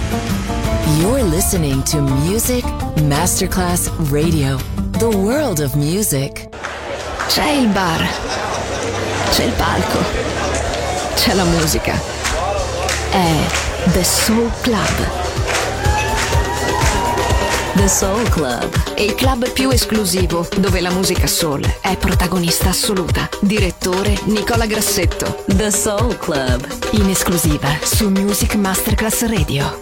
You're listening to Music Masterclass Radio, the world of music. C'è il bar, c'è il palco, c'è la musica. È The Soul Club. The Soul Club, Il club più esclusivo, dove la musica soul è protagonista assoluta. Direttore Nicola Grassetto. The Soul Club, In esclusiva su Music Masterclass Radio.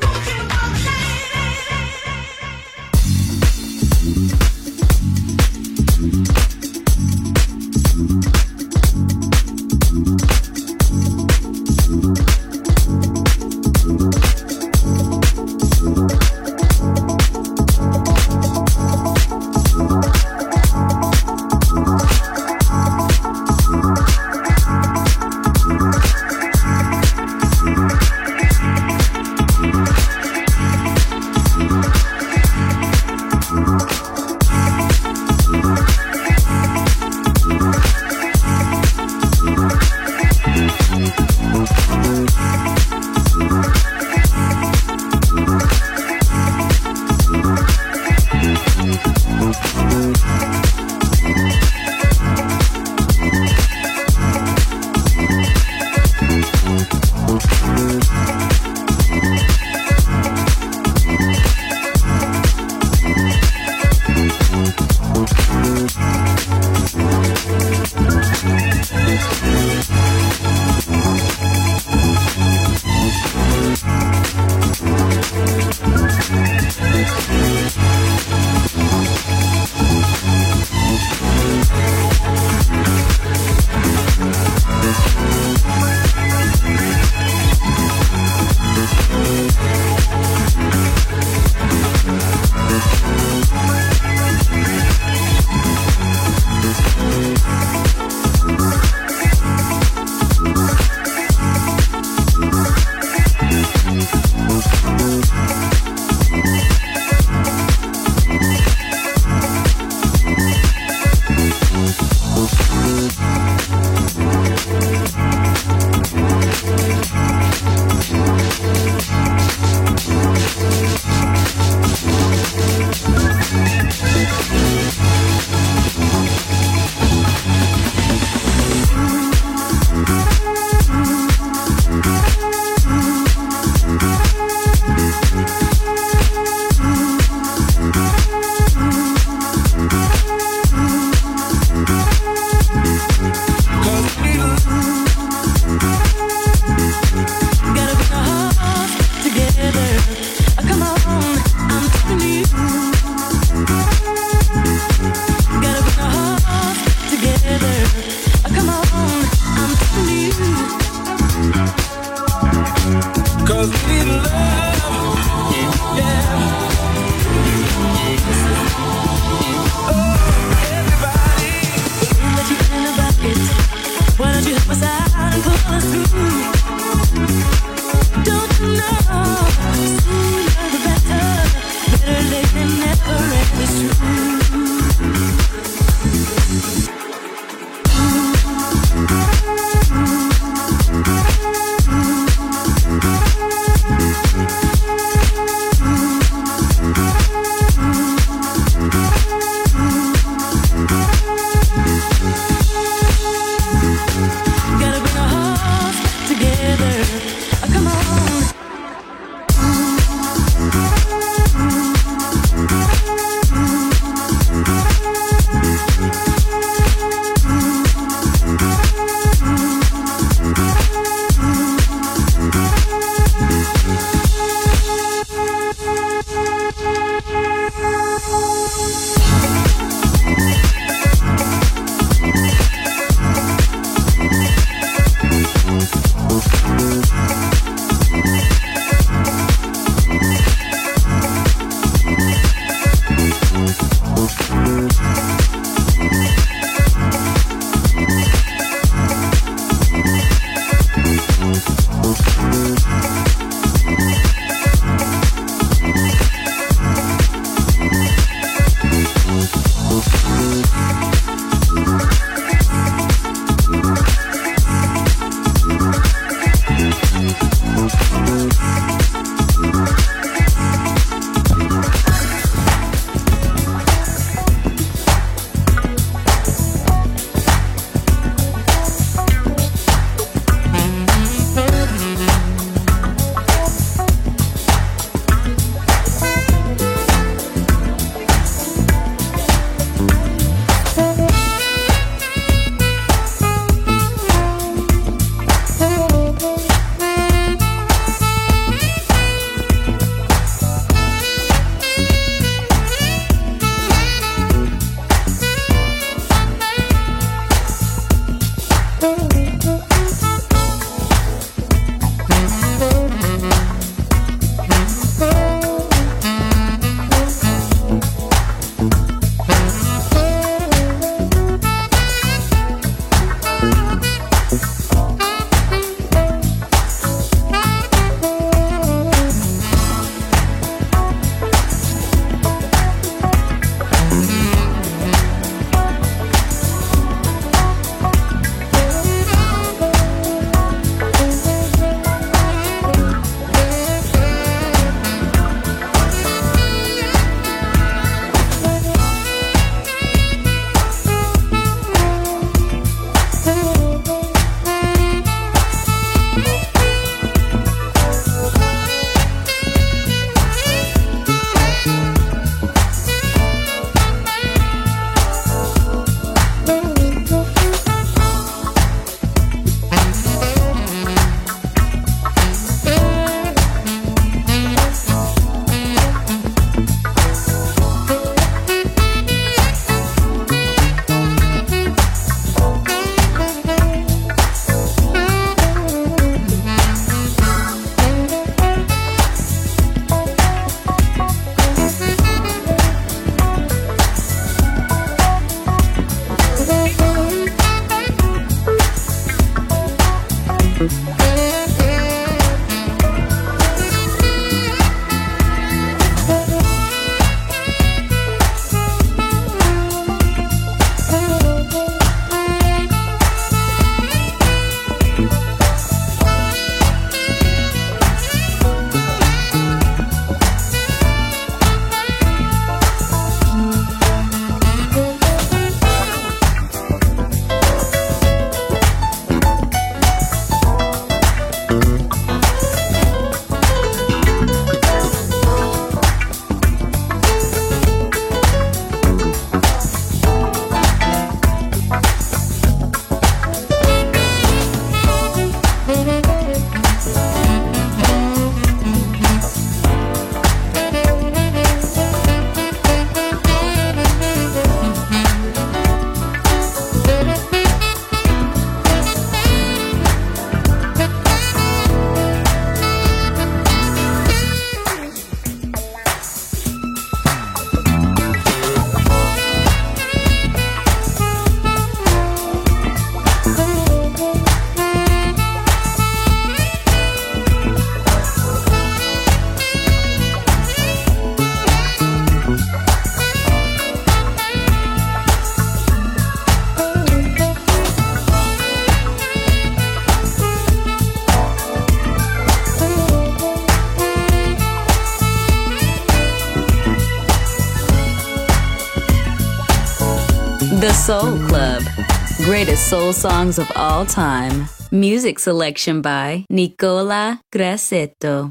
The Soul Club. Greatest soul songs of all time. Music selection by Nicola Grassetto.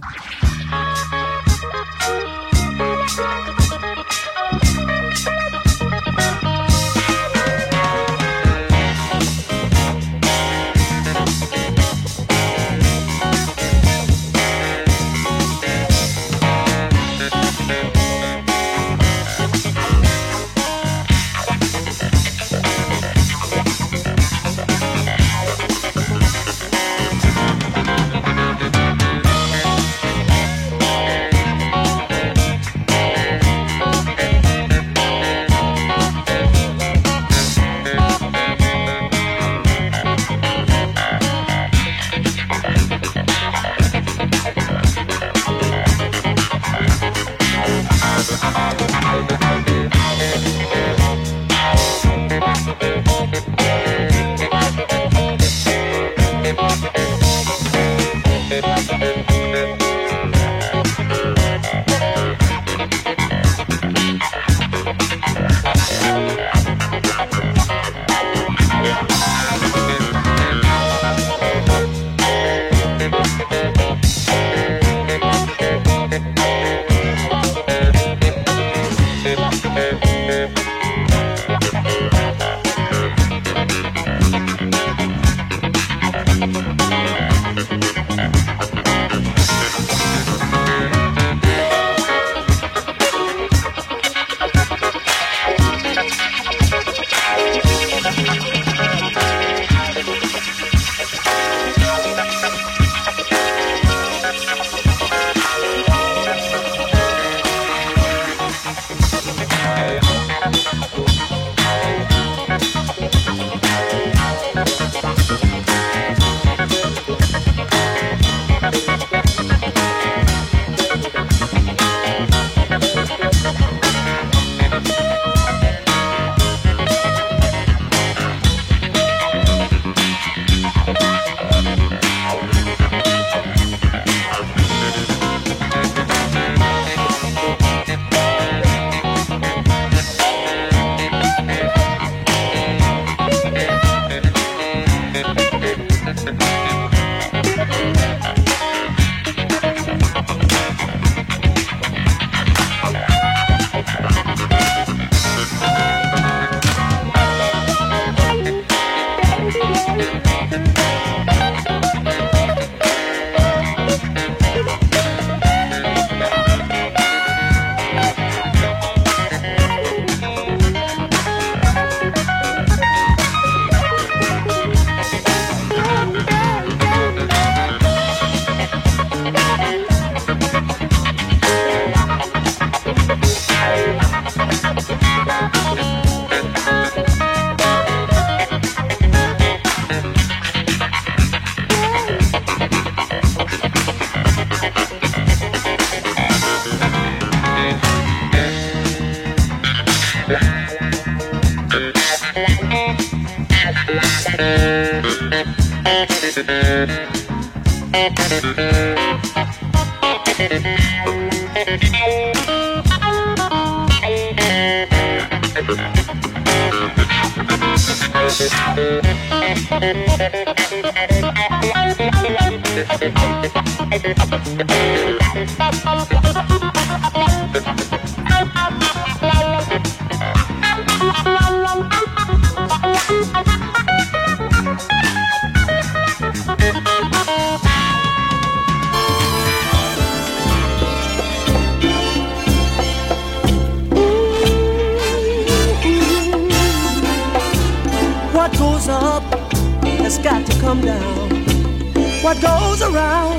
What goes up has got to come down. What goes around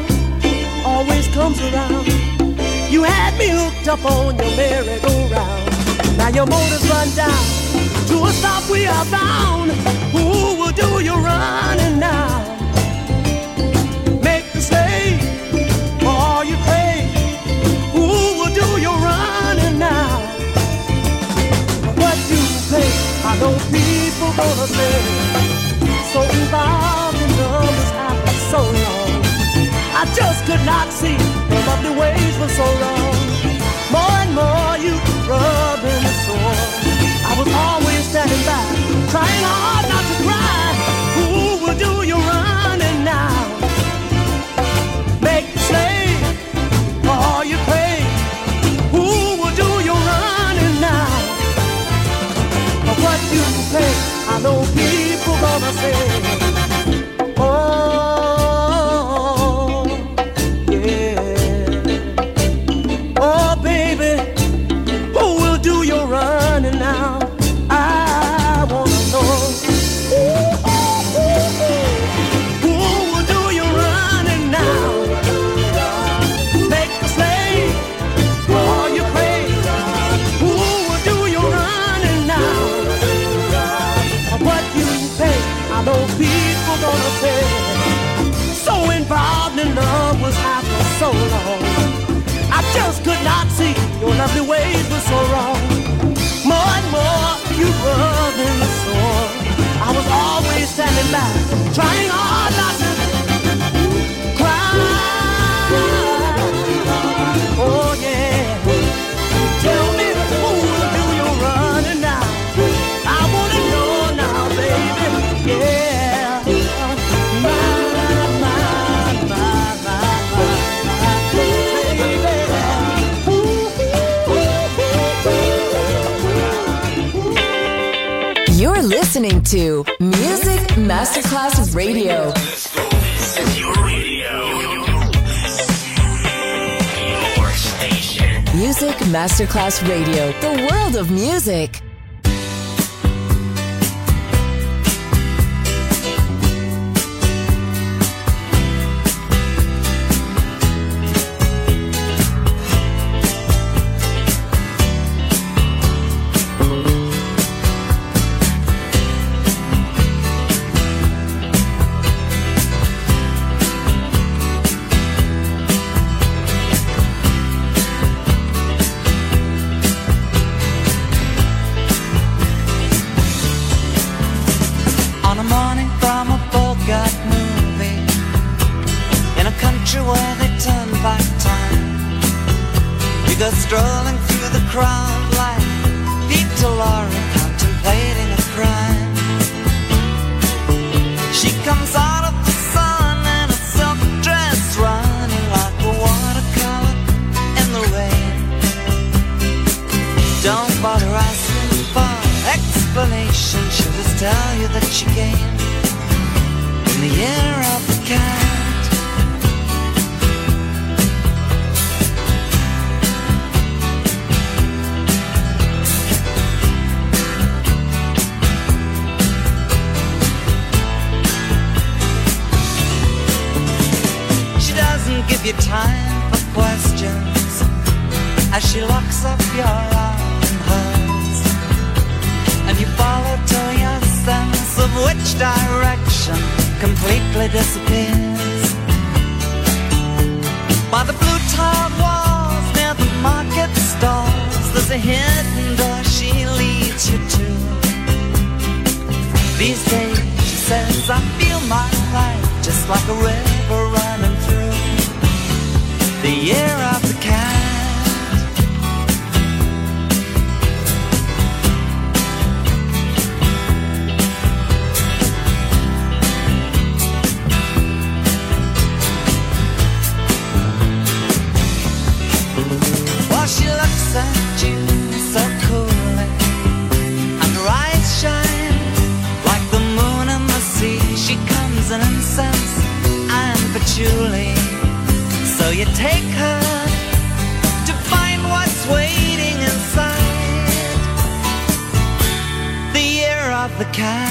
always comes around. You had me hooked up on your merry-go-round. Now your motor's run down. To a stop we are bound. Who will do your running now? Make the stay for all you pay. Who will do your running now? What you pay, I know people gonna say. So involved in numbers after so long. I just could not see the lovely ways for so long. More and more you rubbing the sore. I was always standing by listening to Music Masterclass Radio. This is your radio. Your station. Music Masterclass Radio. The world of music. Strolling through the crowd like Peter Lorre contemplating a crime. She comes out of the sun in a silk dress, running like a watercolor in the rain. Don't bother asking for explanation, she'll just tell you that she came in the year of the cat. Give you time for questions as she locks up your arm in hers, and you follow till your sense of which direction completely disappears. By the blue tiled walls near the market stalls, there's a hidden door she leads you to. These days, she says, I feel my life just like a river running through the year of the cat. While she looks at you so coolly, and her eyes shine like the moon and the sea. She comes in incense and patchouli. So you take her to find what's waiting inside the year of the cat.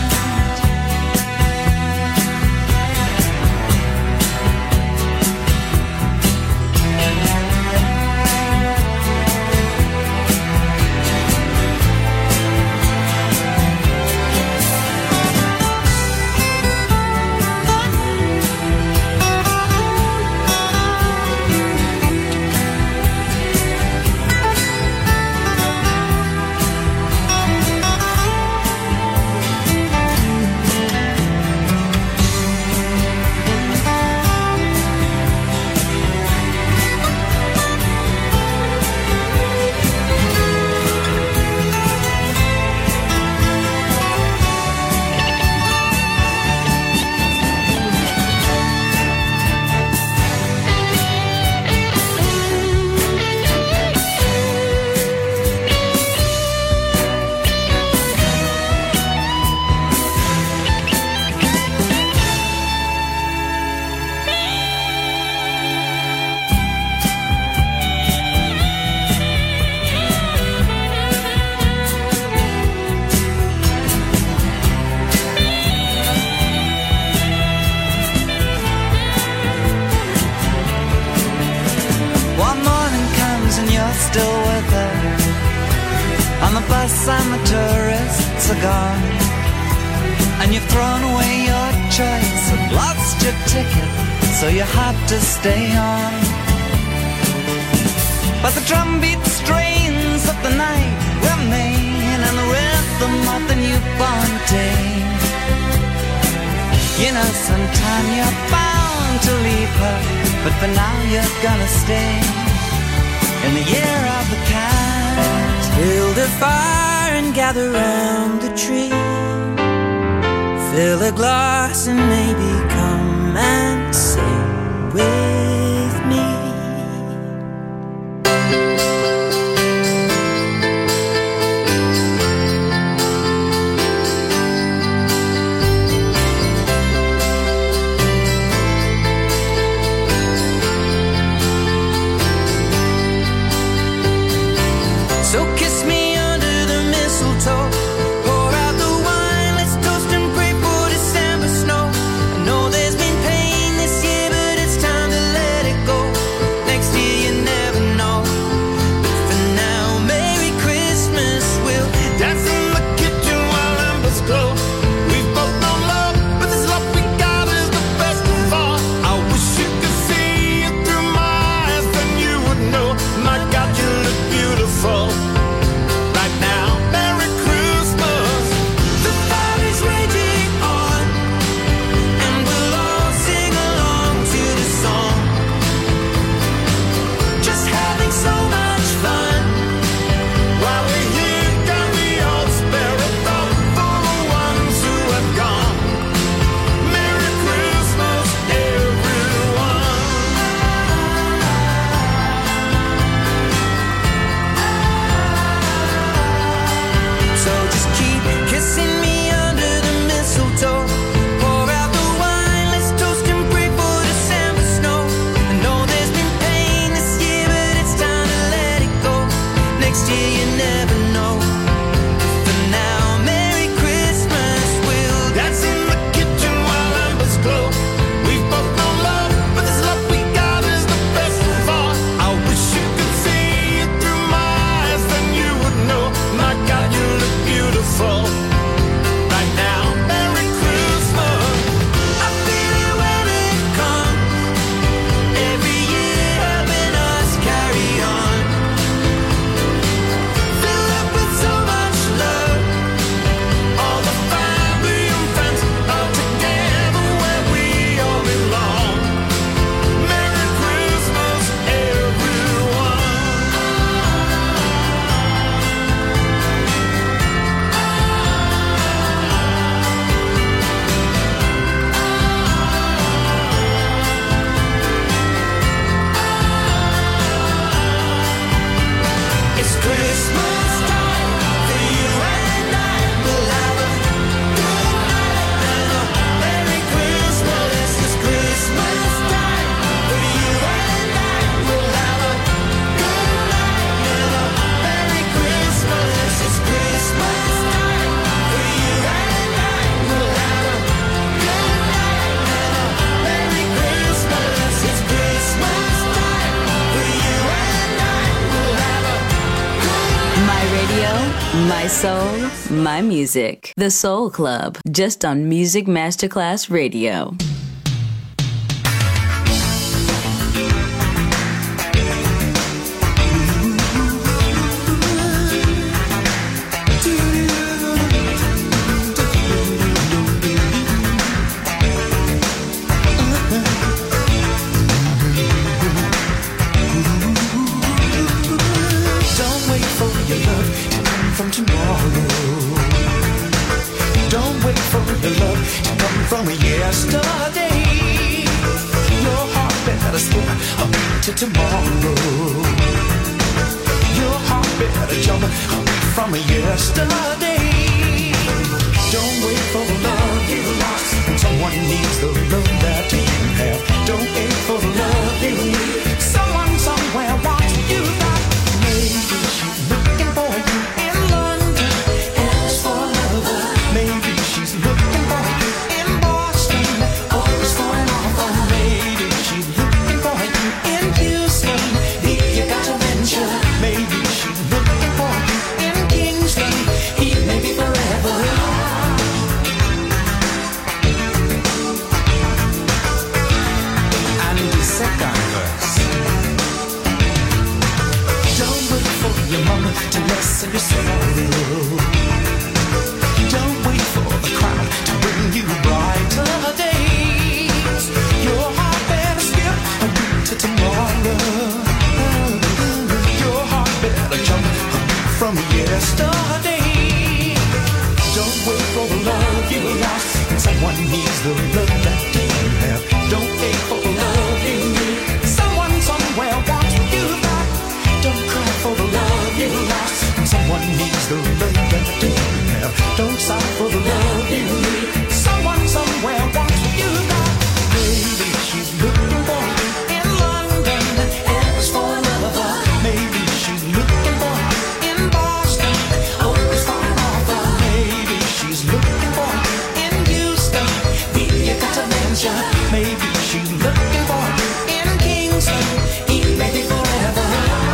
Still with her on the bus and the tourists are gone, and you've thrown away your choice and lost your ticket, so you have to stay on. But the drumbeat strains of the night remain, and the rhythm of the newborn day. You know sometime you're bound to leave her, but for now you're gonna stay in the year of the cat. Build a fire and gather round the tree. Fill a glass and maybe come and sing with me. radio, my soul, my music. The Soul Club, just on Music Masterclass Radio. From yesterday, your heart better skip a beat to tomorrow. Your heart better jump a beat from yesterday. Don't wait for the love you lost when someone needs the love that you have. Don't wait for the love you need. Someone somewhere wants you back. Maybe she's looking for you in London, as for a lover. Maybe she's looking for you. To lessen your sorrow. Don't wait for the crown to bring you brighter days. Your heart better skip a beat to tomorrow. Your heart better jump a beat from yesterday. Don't wait for the love you lost when someone needs the love that you have. Don't wait for the love you need. Someone somewhere wants you back. Don't cry for the love you lost. Someone needs the love that you have. Don't sigh for the love you need. Someone somewhere wants you back. Maybe she's looking for you in London, as for a lover. Maybe she's looking for you in Boston, always for an offer. Maybe she's looking for you in Houston, you got to mention. Maybe she's looking for you in Kingston, maybe forever.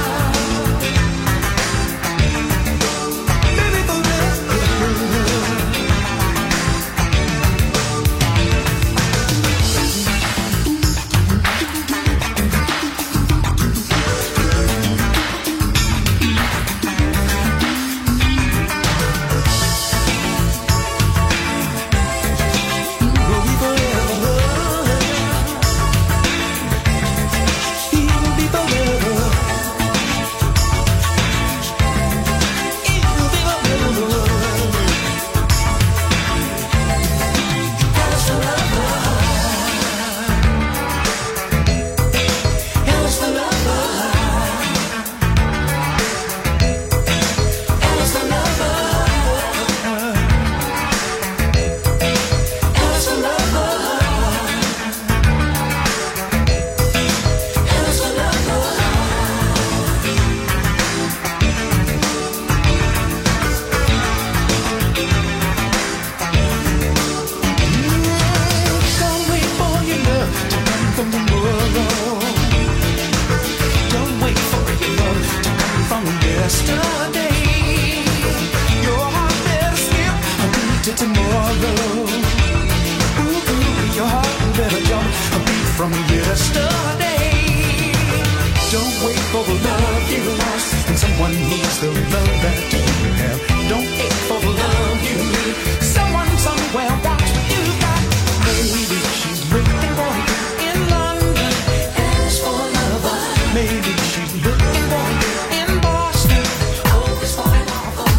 From yesterday, don't wait for the love you lost when someone needs the love that you have. Don't wait for the love you need. Someone somewhere wants you back. Maybe she's looking for you in London, as for a lover. Maybe she's looking for you in Boston, always for an offer.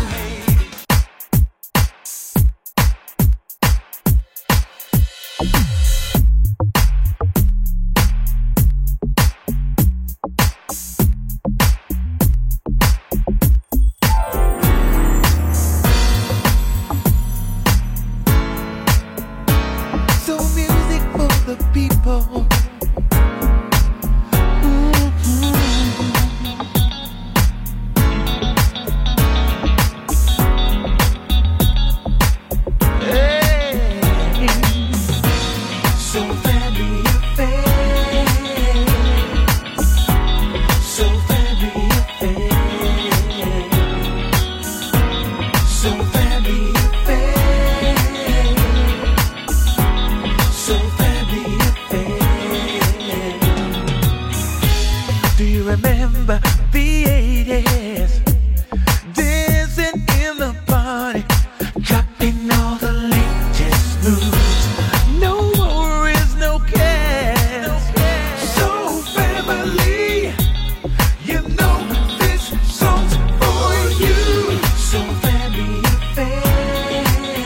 the 80s, dancing in the party, dropping all the latest moves. No worries, no cares. So family, you know this song's for you. So family affair.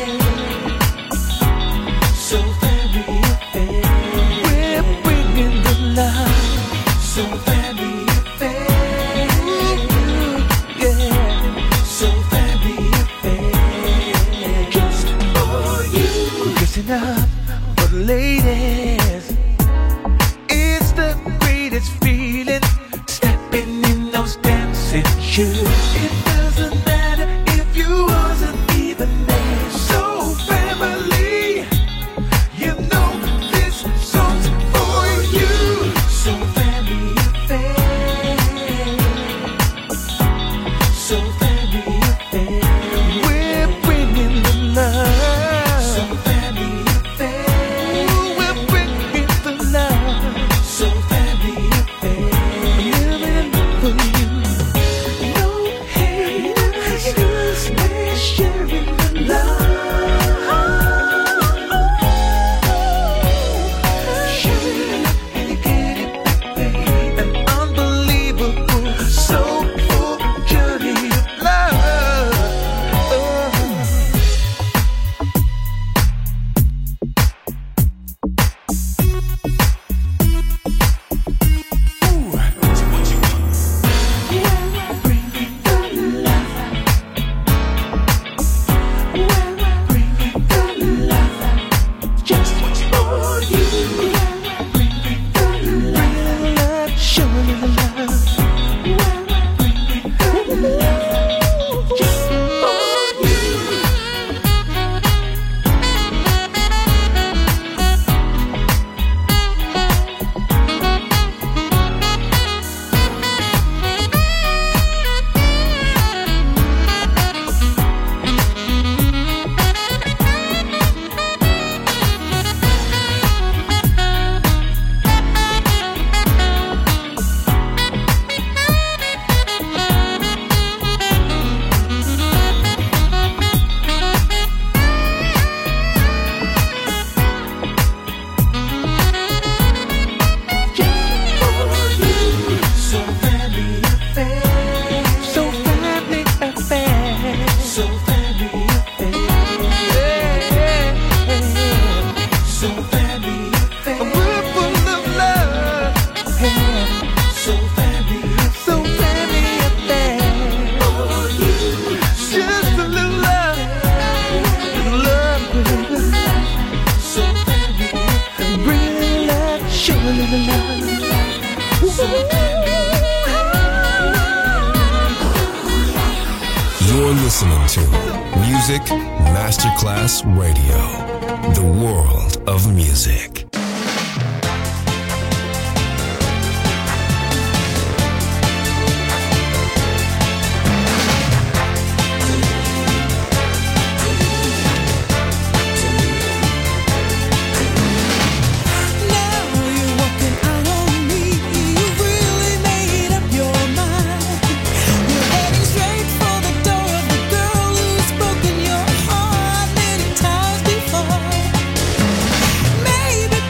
So family affair. We're bringing the love. So family affair. Yeah. So family affair. Just for you. Listen up for the ladies. It's the greatest feeling, stepping in those dancing shoes. It doesn't matter if you wasn't even there. So family, you know this song's for you. So family affair. So family affair. We're bringing the love. So family affair. We're bringing the love. So family affair. Living for you. No haters, we're sharing the love. Sharing and you get it back, babe. An unbelievable, soulful journey of love. Just for you. Bringing the love, showing the love. Bringing the love, just for you. So family affair. So family affair. So family affair. So family affair. We're full of love. So family affair. For you. Just a little love. Love. So family. Bring love. Show a little love. You're listening to Music Masterclass Radio, the world of music. Now you're walking out on me. You've really made up your mind. You're heading straight for the door of the girl who's broken your heart many times before. Maybe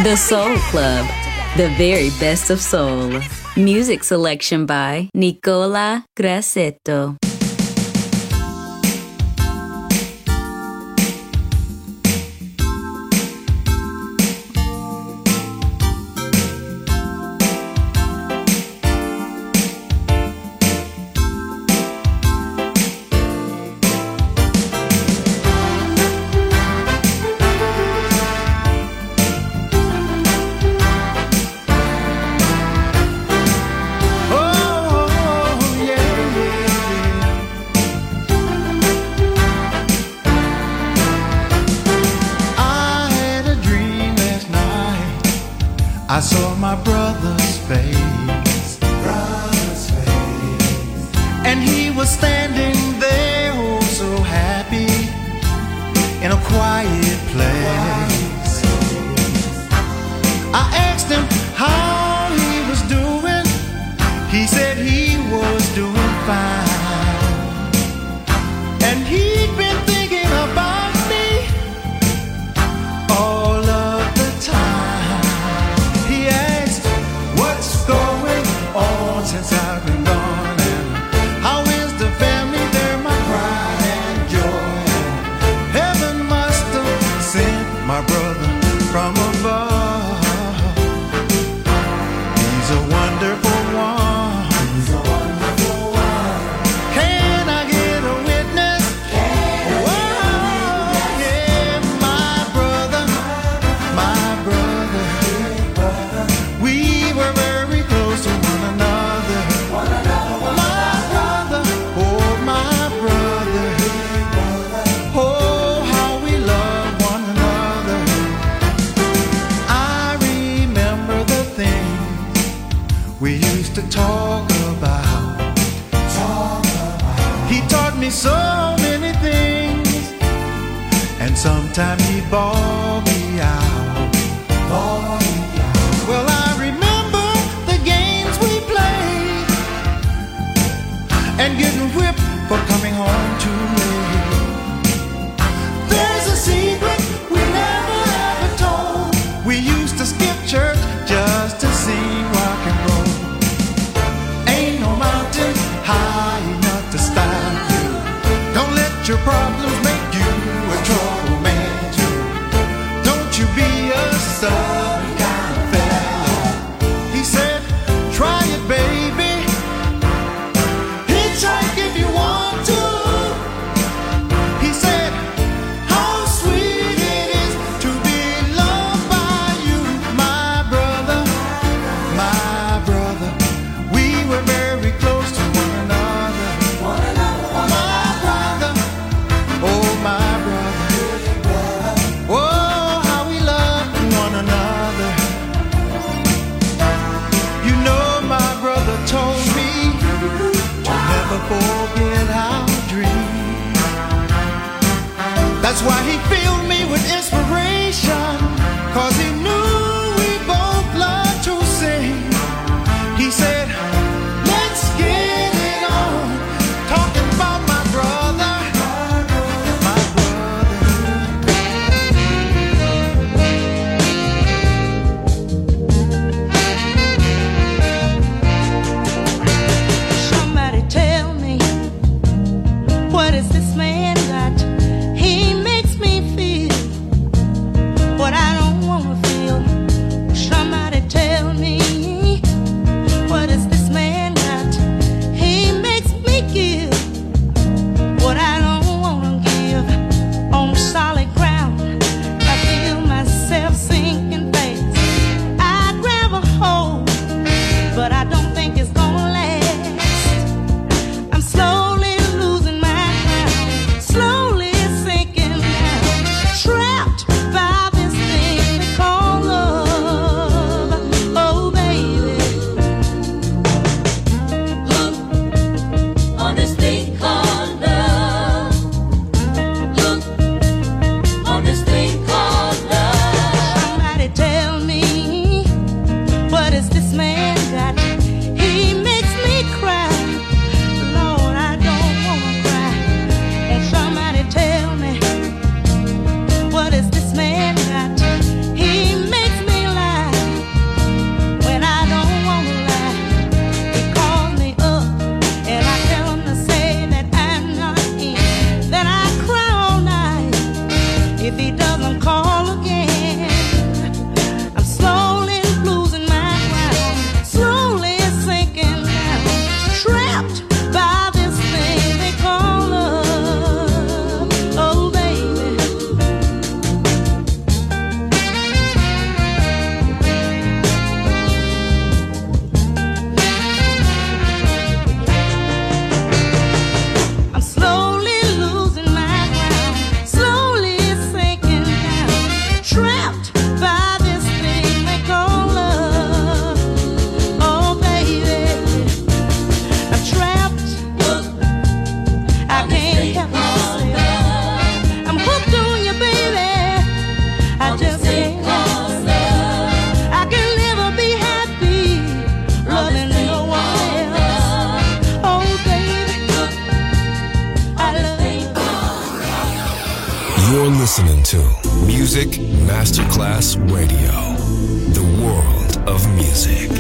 The Soul Club, the very best of soul. Music selection by Nicola Grassetto. I saw my brother's face, and he was standing there, oh so happy, in a quiet place. I asked him how he was doing. He said he was doing fine, and he'd been thinking about me all of the time. Since I've been gone, and how is the family? They're my pride and joy. Heaven must have sent my brother from above. He's a wonderful one. He's a wonderful one. Can I get a witness? Whoa, yeah, my brother, my brother. We were very close to one another. To talk about. He taught me so many things, and sometimes he bawled me out. Well, I remember the games we played, and getting whipped for coming home too late. There's a secret we never ever told. We used to skip church just to sing rock and roll. High enough to stop you. Don't let your problems make you a trouble man too. Don't you be a southern kind of fella. He said, try it, baby. Hitchhike if you want to. He said, how sweet it is to be loved by you, my brother, my brother. We were very close to one another. Forget our dream. That's why he filled me with inspiration, 'cause he knew we both love to sing. He said, let's get it on, talking about my brother, my Somebody tell me, what is this man got? He makes me feel what I don't want to feel. Somebody tell me, what is this man got? He makes me give what I don't want to give. On solid ground, I feel myself sinking fast. I grab a hold, but I don't think it's gonna last. I'm slowly losing my ground, slowly sinking down, trapped by this thing they call love. Oh baby, Hook on this thing called love. Hook on this thing called love. Somebody tell me, what is this man got? He makes me cry. Lord, I don't wanna cry. And somebody tell me, what is this man got? He makes me laugh. listening to Music Masterclass Radio, the world of music.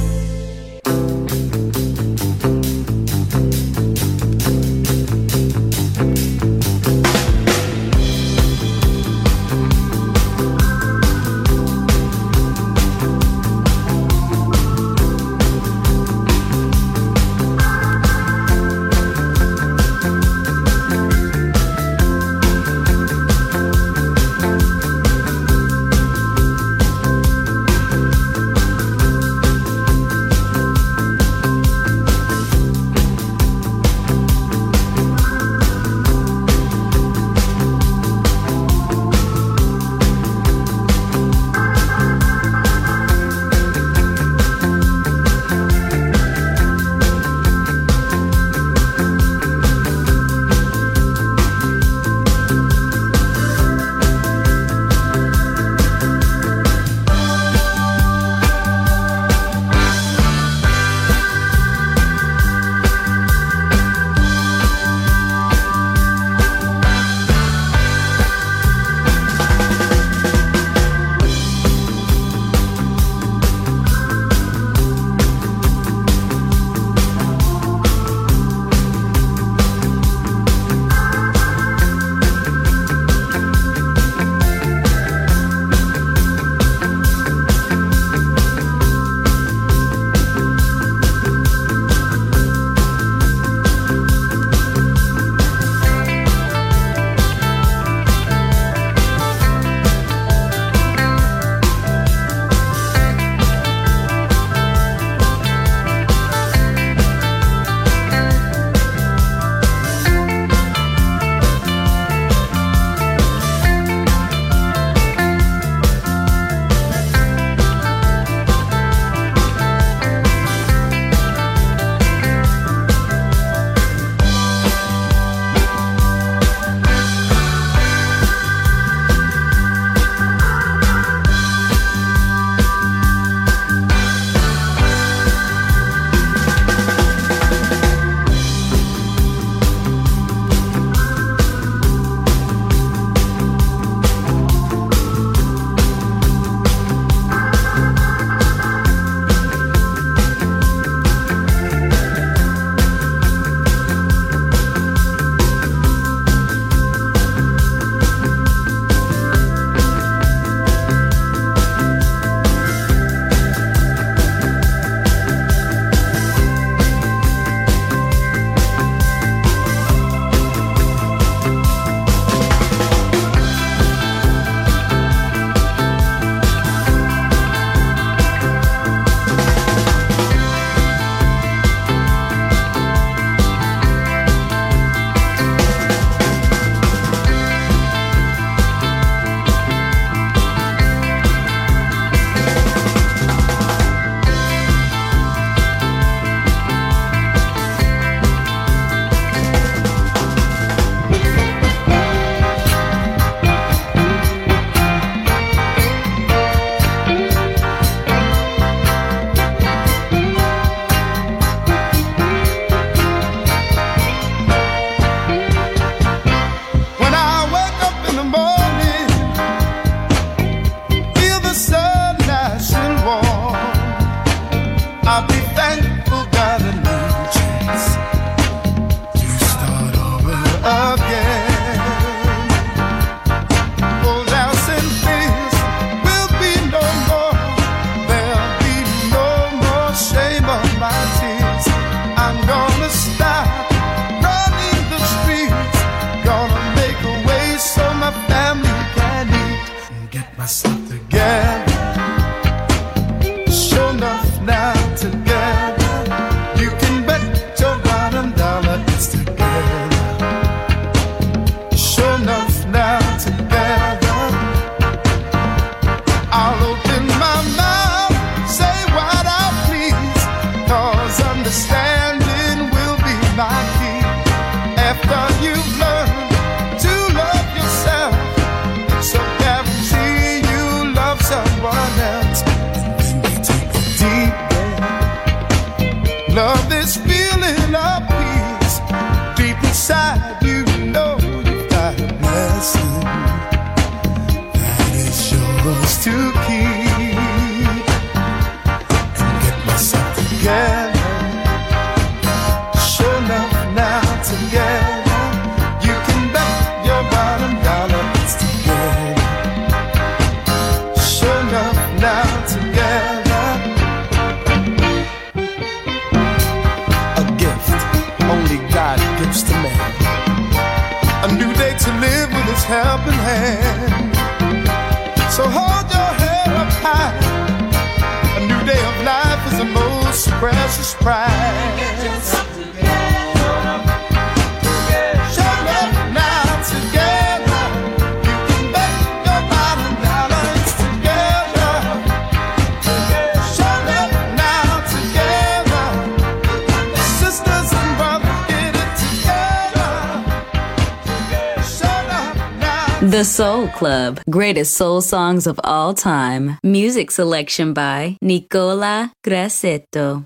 Love this feeling of peace deep inside. You know you've got a blessing. helping hand. So hold your head up high. A new day of life is the most precious prize. Shut up now together. You can make your bottom balance together. Shut up now together. Sisters and brothers, get it together. Shut up now. The Soul Club, greatest soul songs of all time. Music selection by Nicola Grassetto.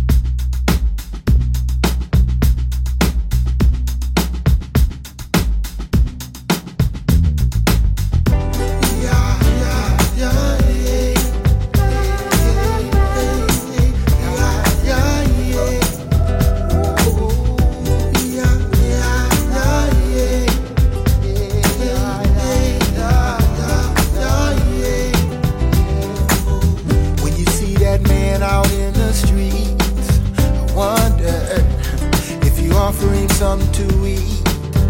Offering something to eat,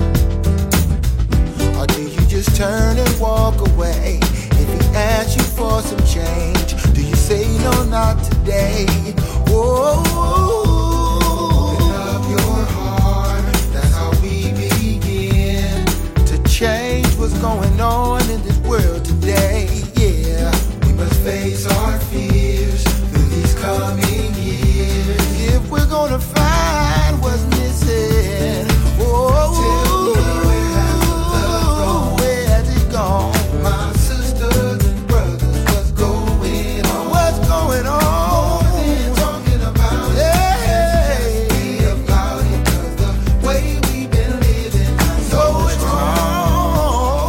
or do you just turn and walk away? If he asks you for some change, do you say no, not today? Whoa, open up your heart, that's how we begin to change what's going on in this world today. Yeah, we must face our fears through these coming years. If we're gonna find what's missing, oh, tell me where has the love gone? Where has it gone? My sisters and brothers, what's going on? What's going on? More than talking about it, let's be about it, 'cause the way we've been living is so strong.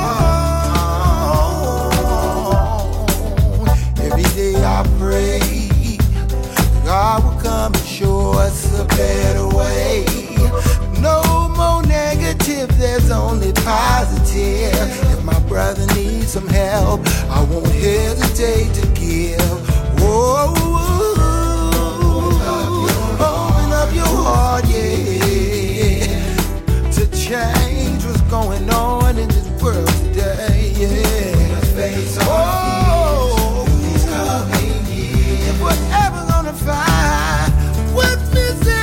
Every day I pray God will come and show us a better way. No more negative, there's only positive. If my brother needs some help, I won't hesitate to give. Whoa, open up your heart, yeah, to change what's going on in this world today, yeah. Face our fears through these coming years. If we're ever gonna find what's missing,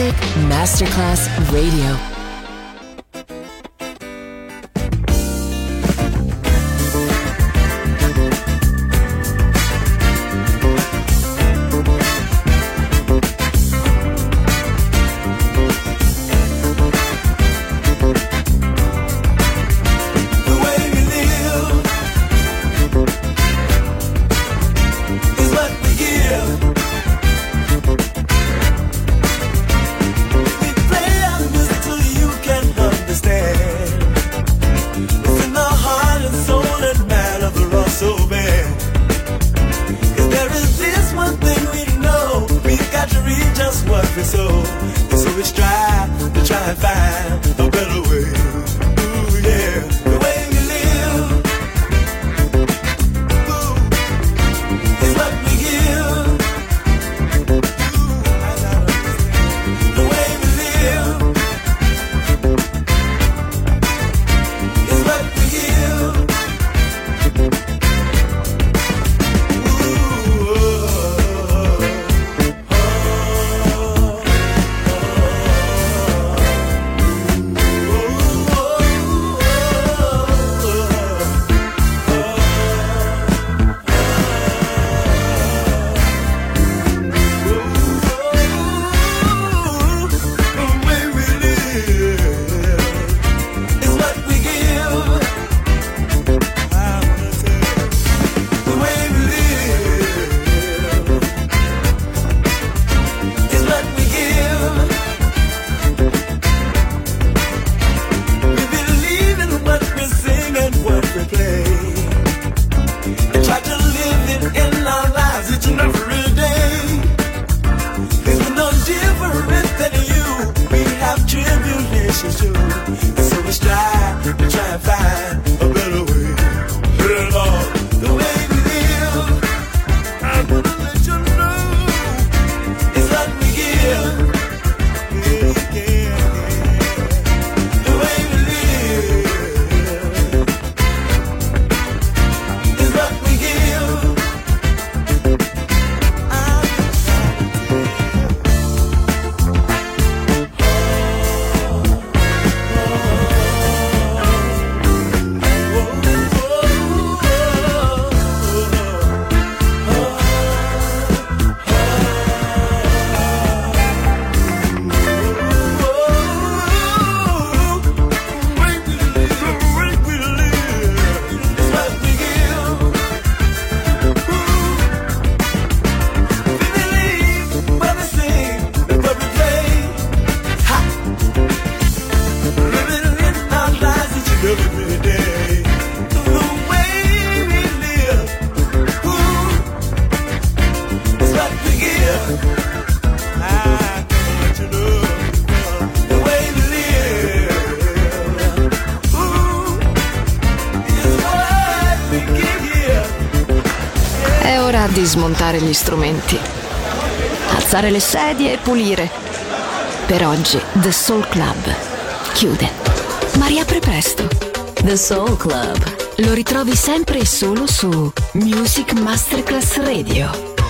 Music Masterclass Radio. Di smontare gli strumenti, alzare le sedie e pulire. Per oggi The Soul Club chiude, ma riapre presto. The Soul Club lo ritrovi sempre e solo su Music Masterclass Radio.